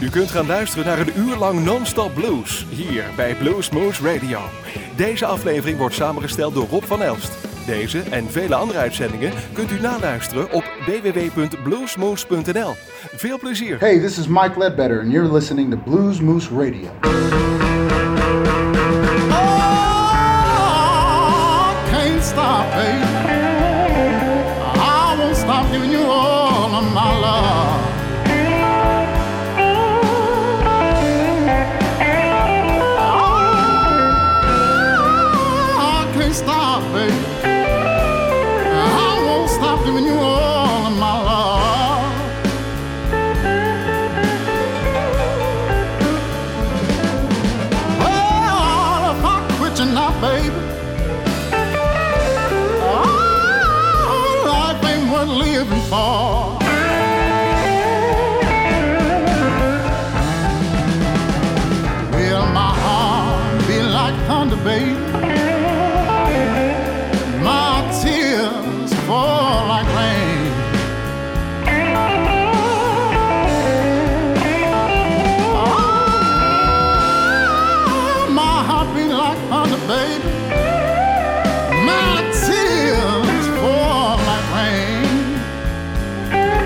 U kunt gaan luisteren naar een uur lang non-stop blues, hier bij Bluesmoose Radio. Deze aflevering wordt samengesteld door Rob van Elst. Deze en vele andere uitzendingen kunt u naluisteren op www.bluesmoose.nl. Veel plezier! Hey, this is Mike Ledbetter and you're listening to Bluesmoose Radio. Oh, can't stop, baby. I won't stop giving you all of my love. Stop, baby. I won't stop giving you all of my love. Well, if I quit you now, baby, oh, life ain't worth living for. Will my heart be like thunder, baby? My tears fall like rain. Oh, my heart beat like thunder, baby. My tears fall like rain.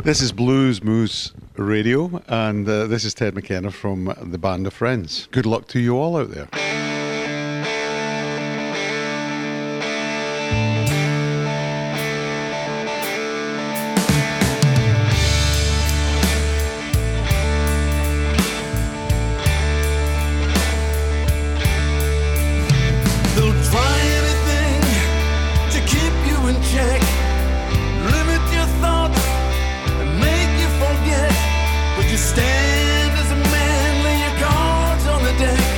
This is Blues Moose Radio, and this is Ted McKenna from the Band of Friends. Good luck to you all out there. Stand as a man, lay your cards on the deck.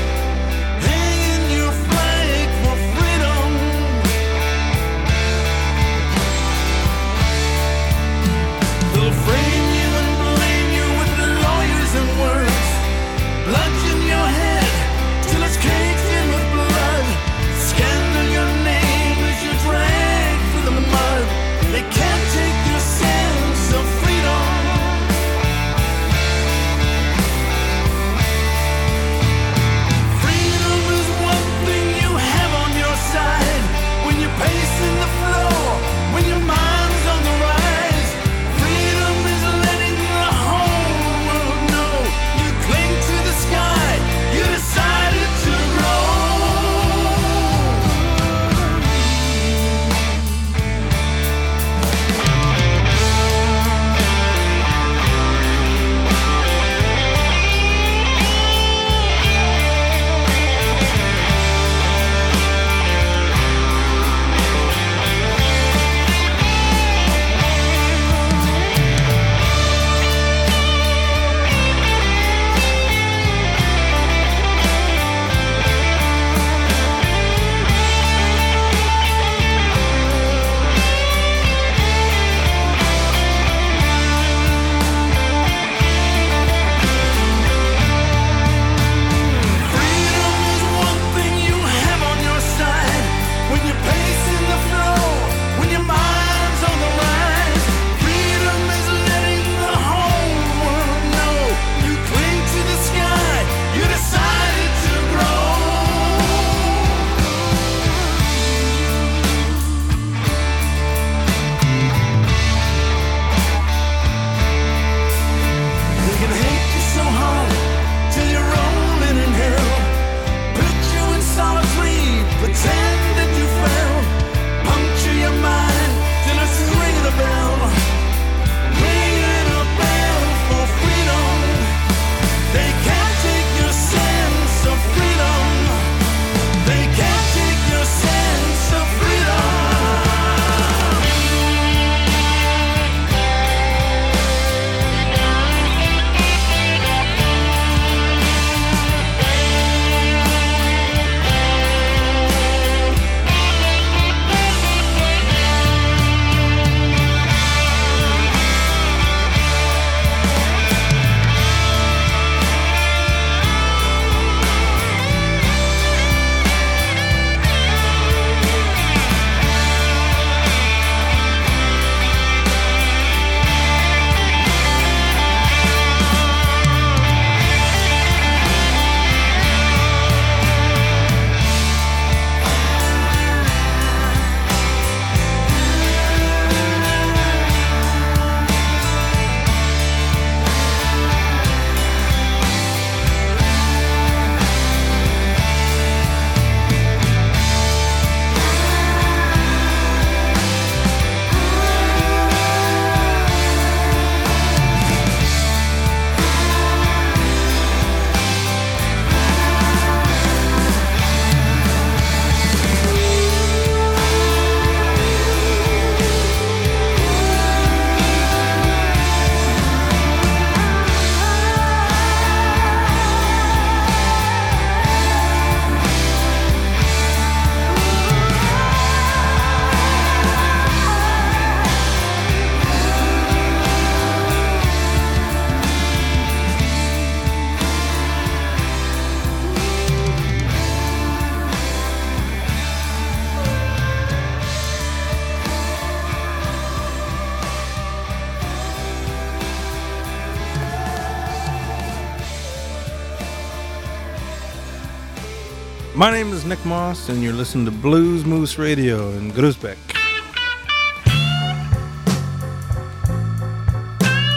My name is Nick Moss, and you're listening to Blues Moose Radio in Groesbeck.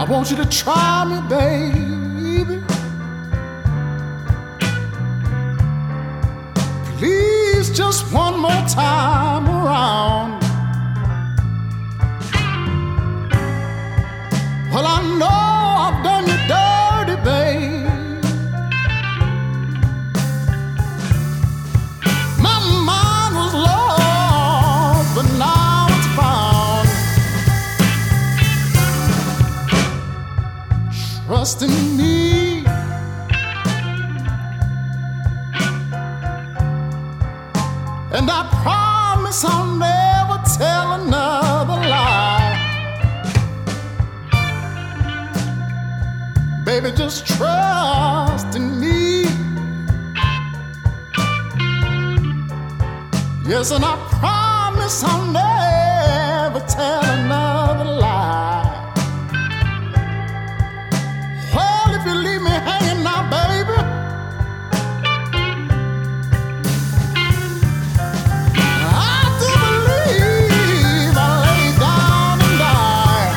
want you to try me, baby. Please, just one more time around. Well, I know I've done you dirty, babe. My mind was lost, but now it's found. Trust in me. And I promise I'll never tell another lie. Baby, just trust in me. Yes, and I promise I'll never tell another lie. Well, if you leave me hanging now, baby, I do believe I'll lay down and die.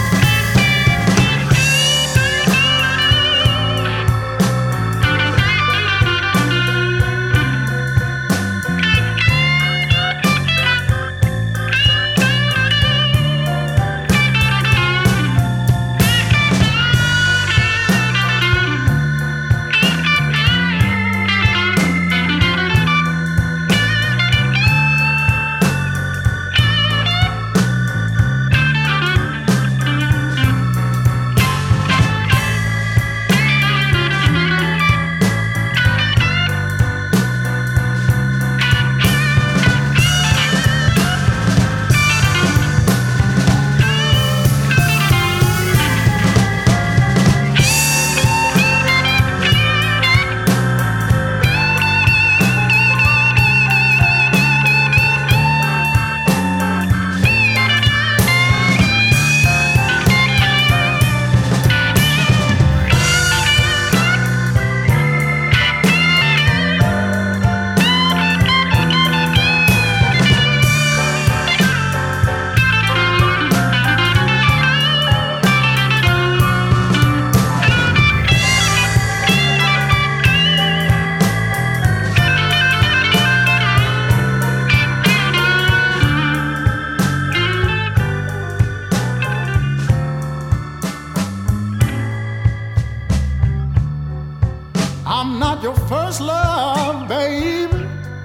I'm not your first love, baby.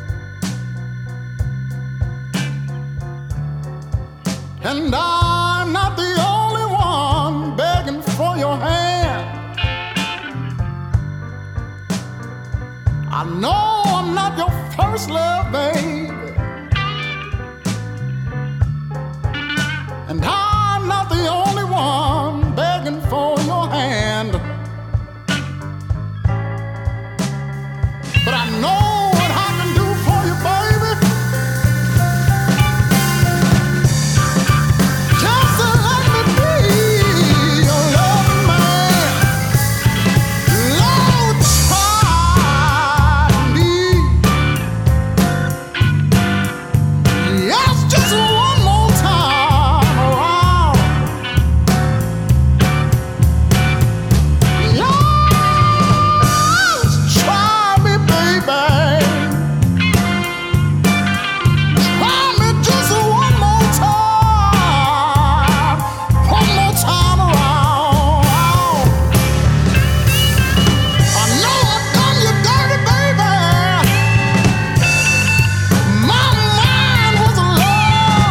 And I'm not the only one begging for your hand. I know I'm not your first love, baby. And I'm not the only one begging for your hand. But I know what I can do for you, baby. Just to let me be your loving man. Lord, try me. Yes, just one more time around. Yes, try me, baby. Try me just one more time around. I know I've done you dirty, baby. My mind was lost,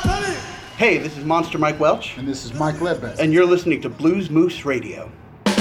Hey, this is Monster Mike Welch. And this is Mike Ledbetter. And you're listening to Blues Moose Radio.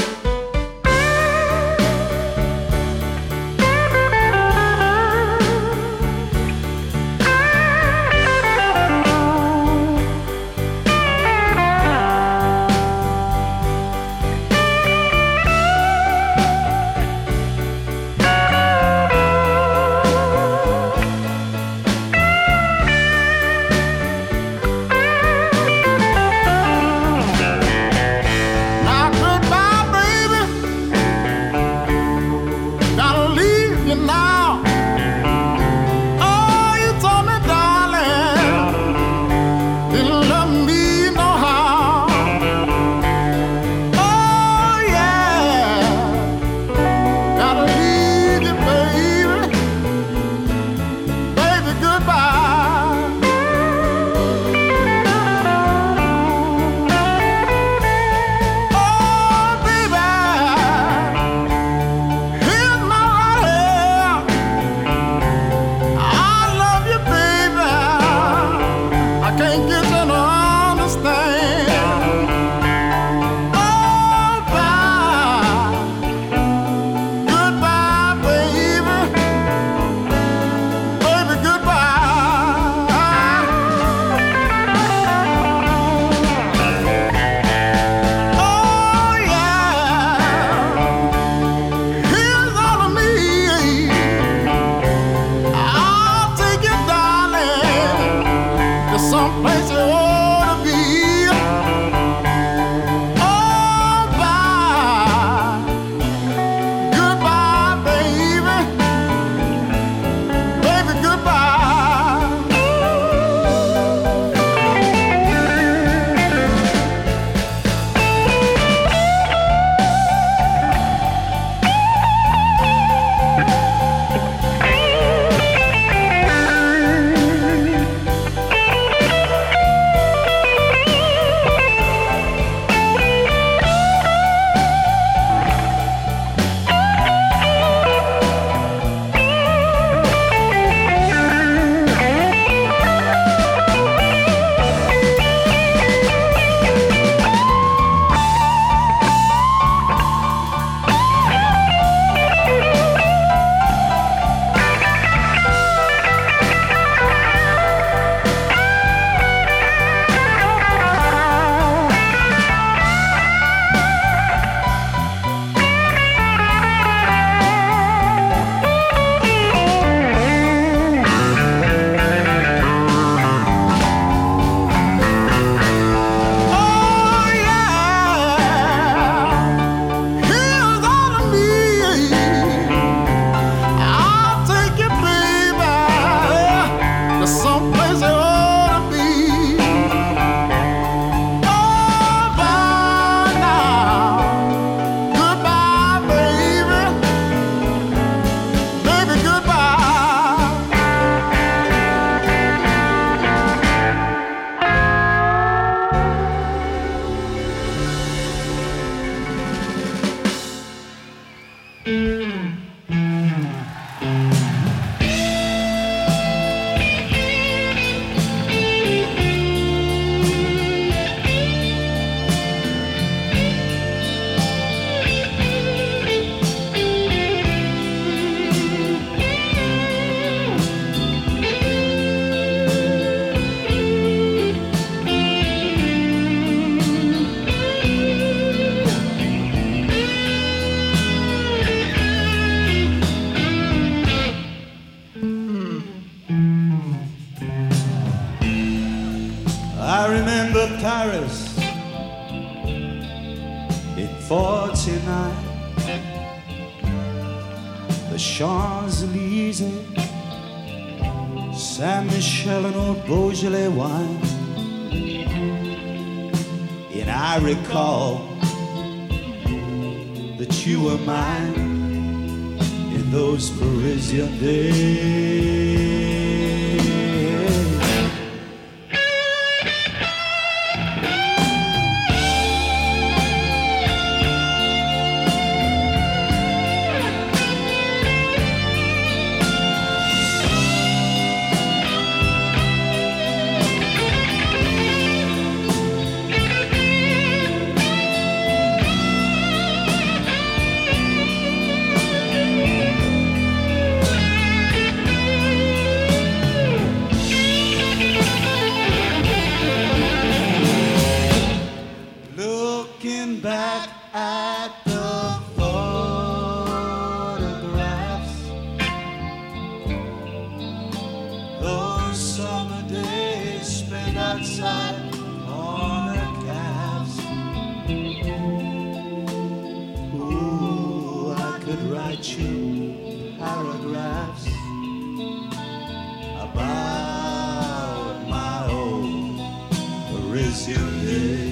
Paris in 49, the Champs-Élysées, Saint-Michel and old Beaujolais wine. And I recall that you were mine in those Parisian days. outside corner calves. Ooh, I could write you paragraphs about my old Parisian days.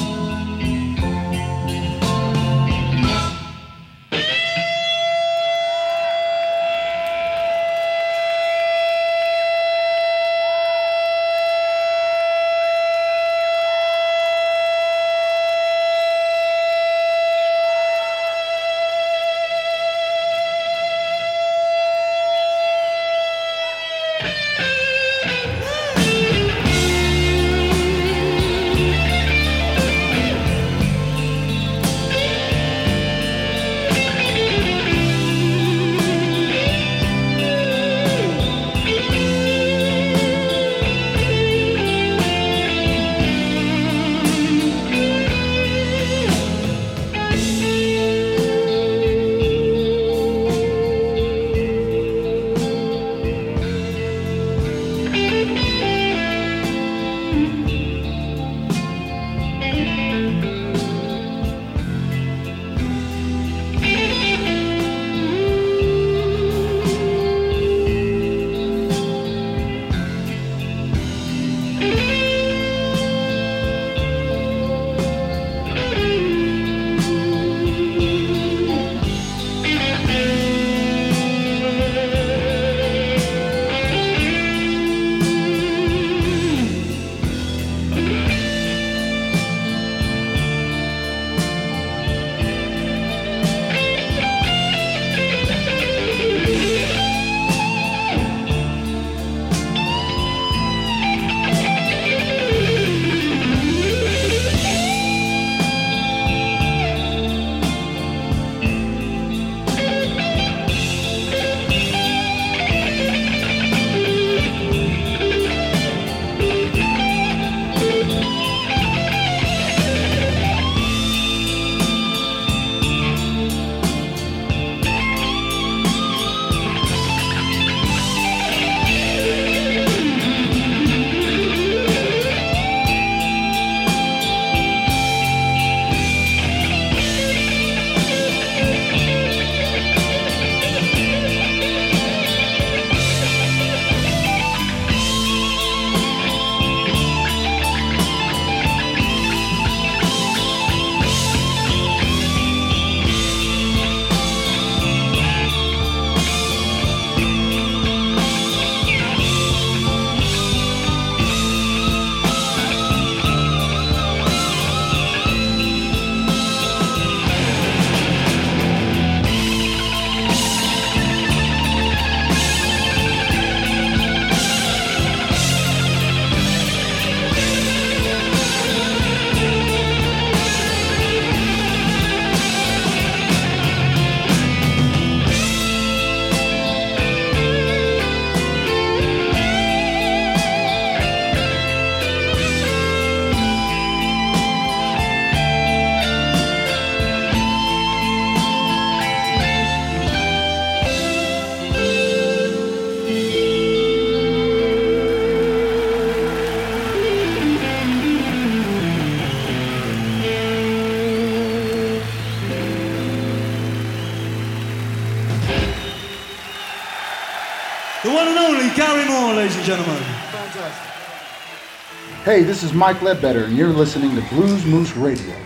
The one and only Gary Moore, ladies and gentlemen. Fantastic. Hey, this is Mike Ledbetter, and you're listening to Blues Moose Radio.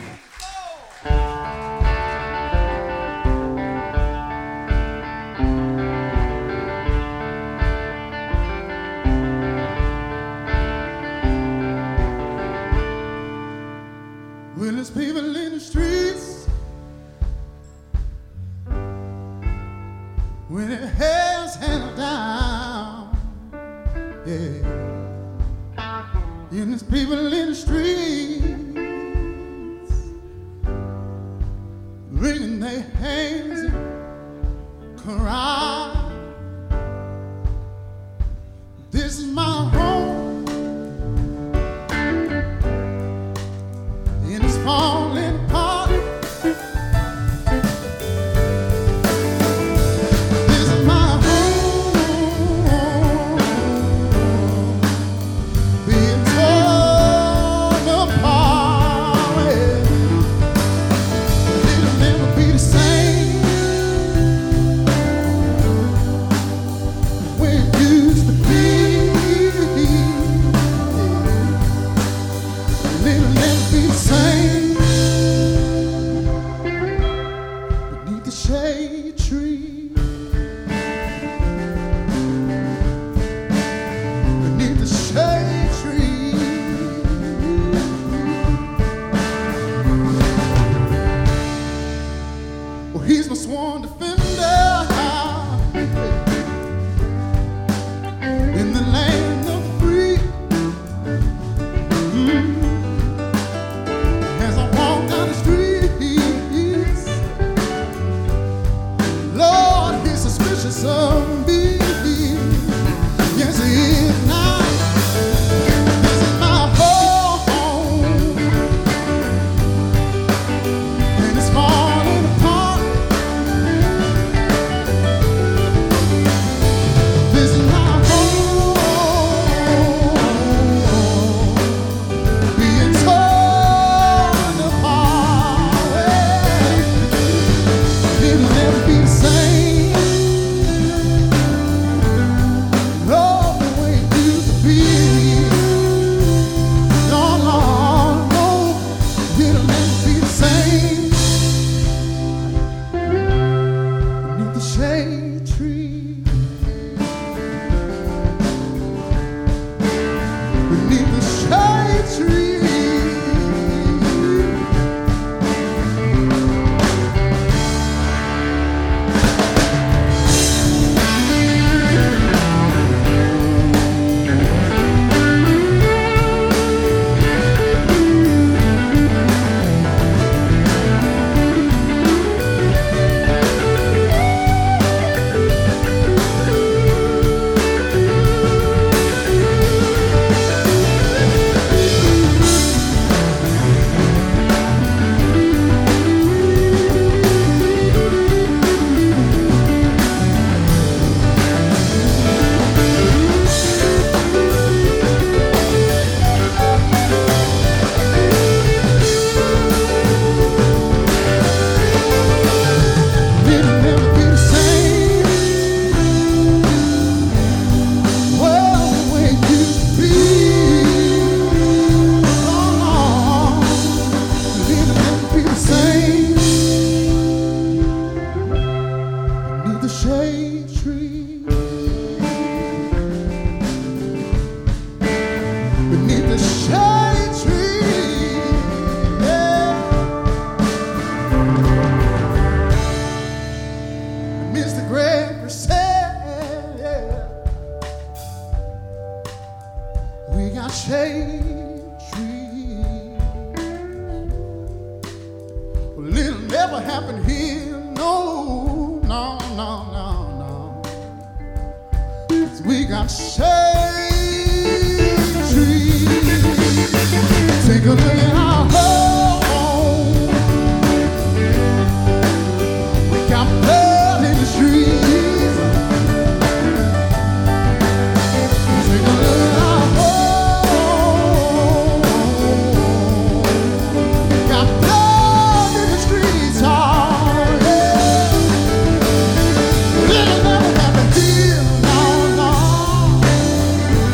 When there's people in the streets, when it has handled down, yeah. And there's people in the streets, wringing their hands and cry. This is my home, and it's falling apart. This is my home, being torn We got shade trees. Well, it'll never happen here. No, no, no, no, no. 'Cause we got shade trees. Take a look at our home. We got blood in the streets. Take a look at our home. Got blood in the streets. Oh, yeah. It'll never happen here. No, no.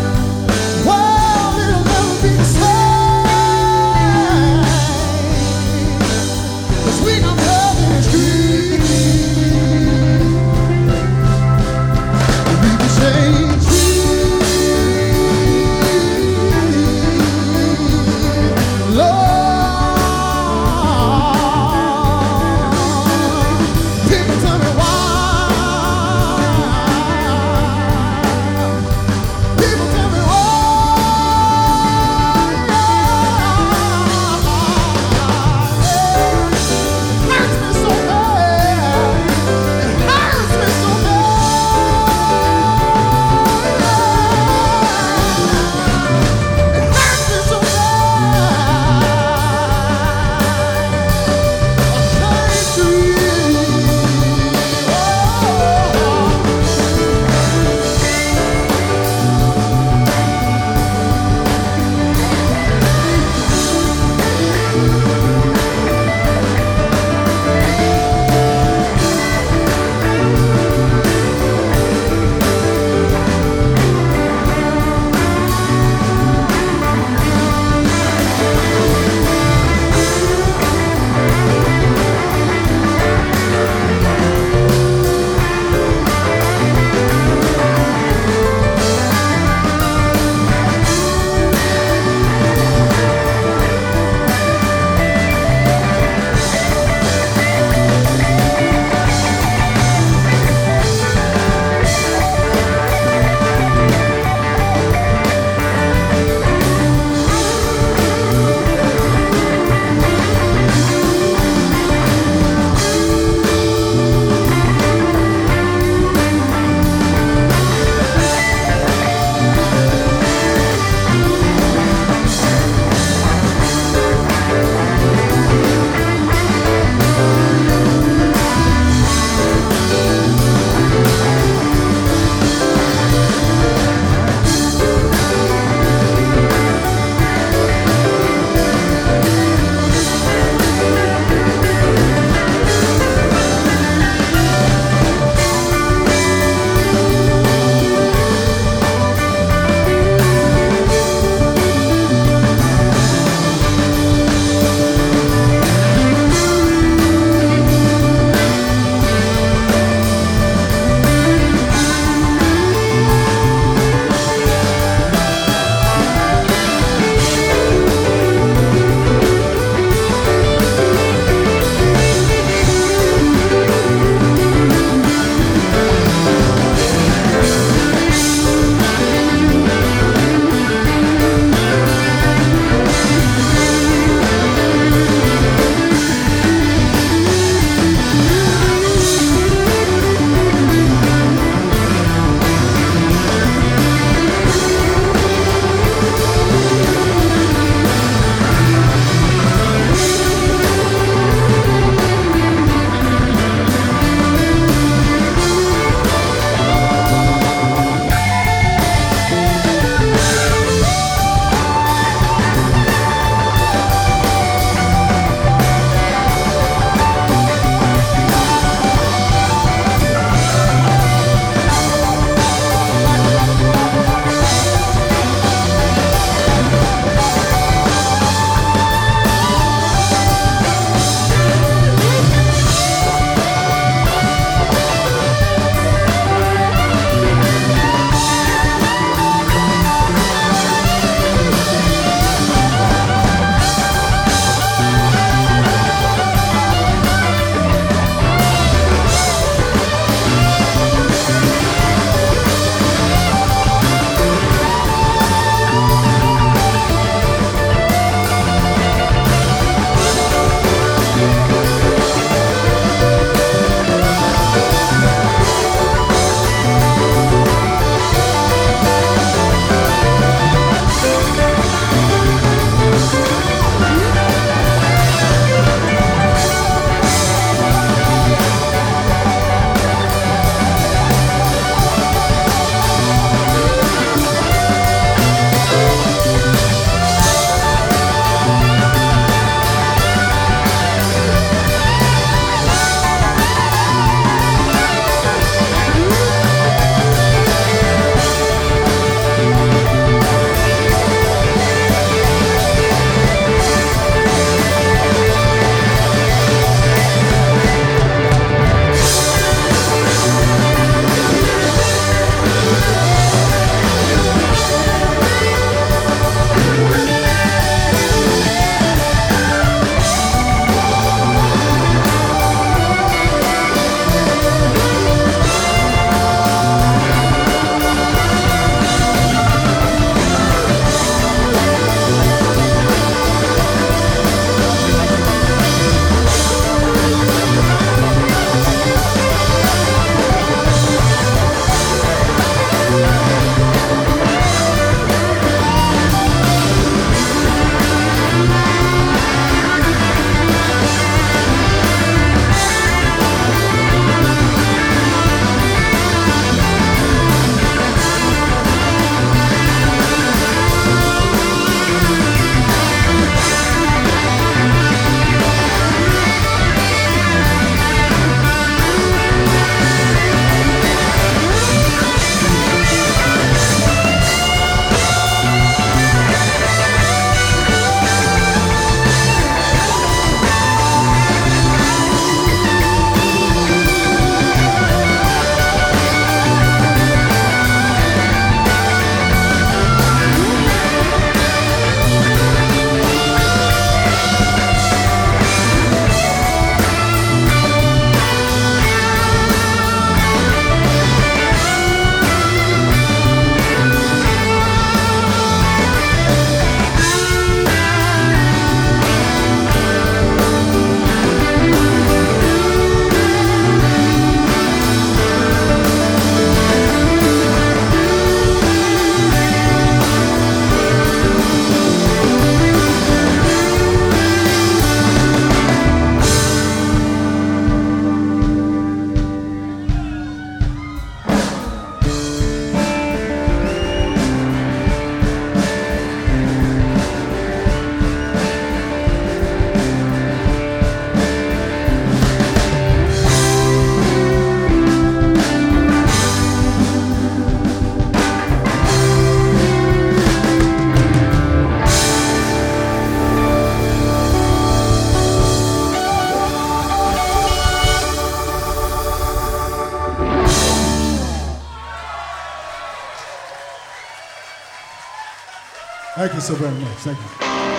Thank you so very much. Thank you.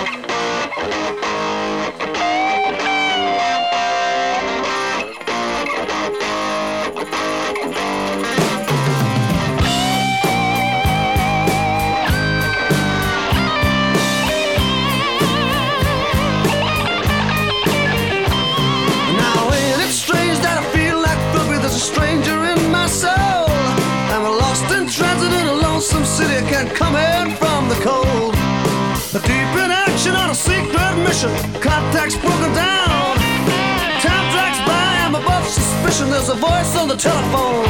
City can't come in from the cold. Deep in action on a secret mission. Contacts broken down. Time drags by, I'm above suspicion. There's a voice on the telephone.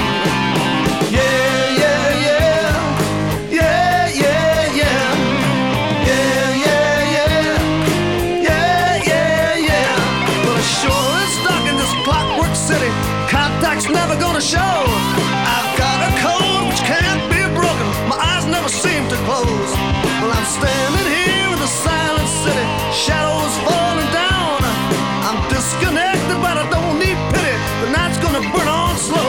Yeah, yeah, yeah. Yeah, yeah, yeah. Yeah, yeah, yeah. Yeah, yeah, yeah. But it sure is dark in this clockwork city. Contacts never gonna show. I've got a code which can't be broken. My eyes never seem to close. Well, I'm standing here in the silent city. Shadows falling down. I'm disconnected, but I don't need pity. The night's gonna burn on slow.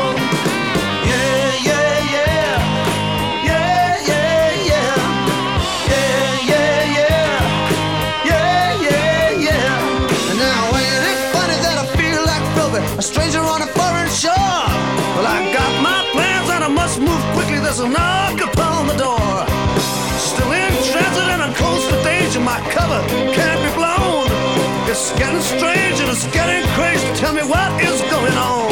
Yeah, yeah, yeah. Yeah, yeah, yeah. Yeah, yeah, yeah. Yeah, yeah, yeah. And now ain't it funny that I feel like Philby, a stranger on a foreign shore? Well, I got my plans and I must move quickly. There's a knock upon the door. Still in transit and on coastal danger. My cover can't be blown. It's getting strange and it's getting crazy. Tell me what is going on.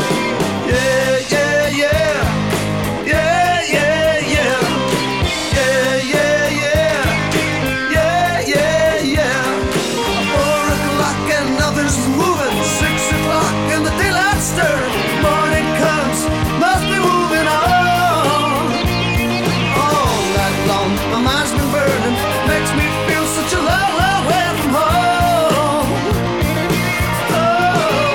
Yeah, yeah, yeah. Yeah, yeah, yeah. Yeah, yeah, yeah. Yeah, yeah, yeah. 4 o'clock and nothing's moving. 6 o'clock and the daylight stirs. Morning comes, must be moving on. All night long, my mind's been burning. Makes me feel such a long, long way from home. Oh.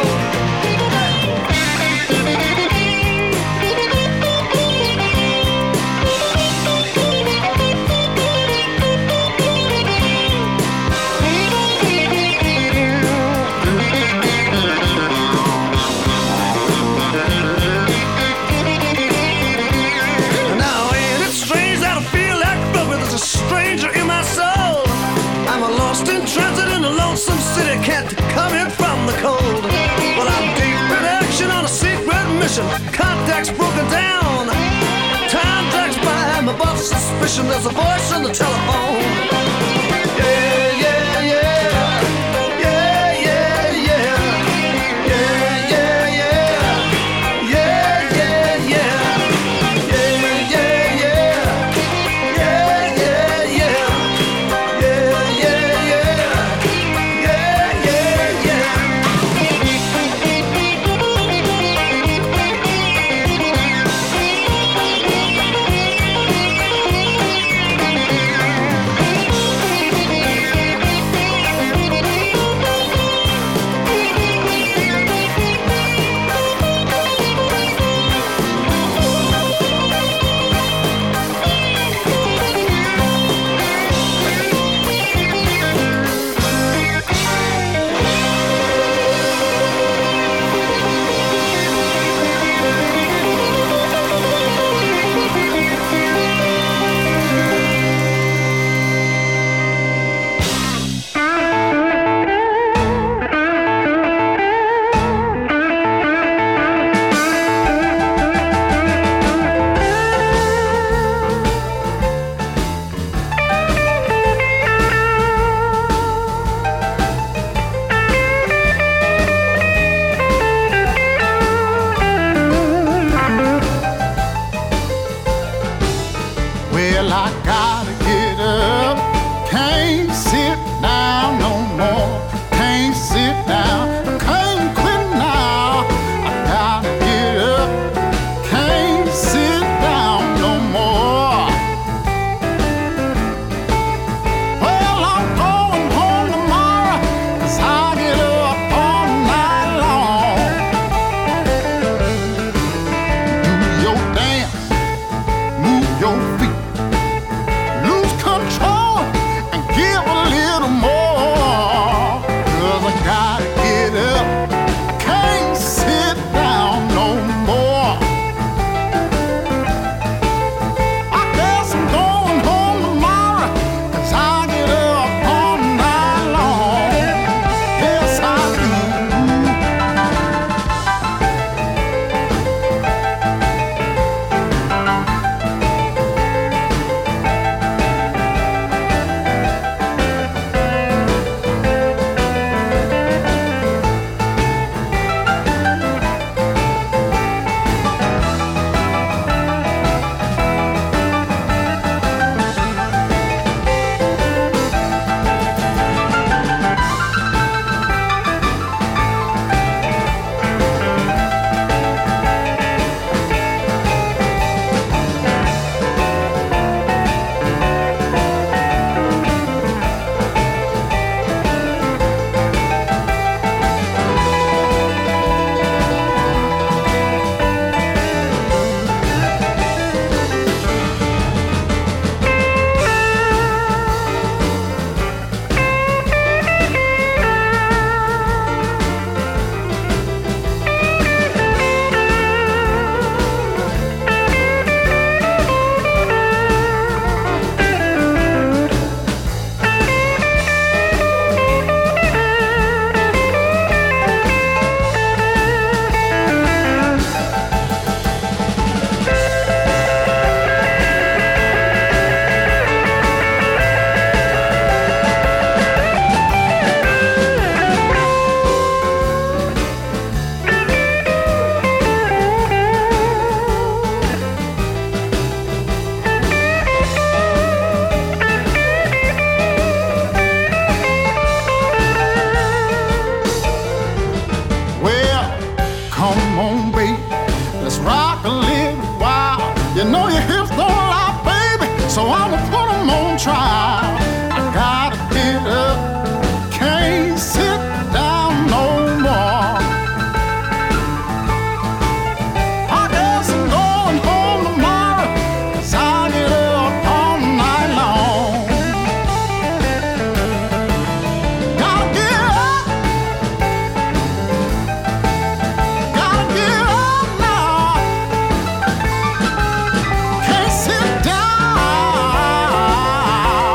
Now ain't it strange that I feel like Philby? There's a stranger in my soul. I'm a lost in transit in a lonesome city. Can't come in from the cold. Well, I'm deep in action on a secret mission. Contacts broken down. Time drags by, I'm above suspicion. There's a voice on the telephone. Yeah, yeah, yeah. Yeah, yeah, yeah. Yeah, yeah, yeah. Yeah, yeah, yeah. Yeah, yeah, yeah. Yeah, yeah, yeah. Yeah, yeah, yeah. Yeah, yeah, yeah. try. I gotta get up, can't sit down no more. I guess I'm going home tomorrow, 'cause I get up all night long. Gotta get up, now. Can't sit down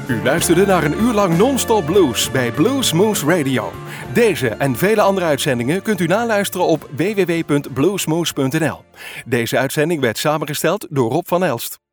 U luisterde naar een uur lang non-stop blues bij Blues Moose Radio. Deze en vele andere uitzendingen kunt u naluisteren op www.bluesmoose.nl. Deze uitzending werd samengesteld door Rob van Elst.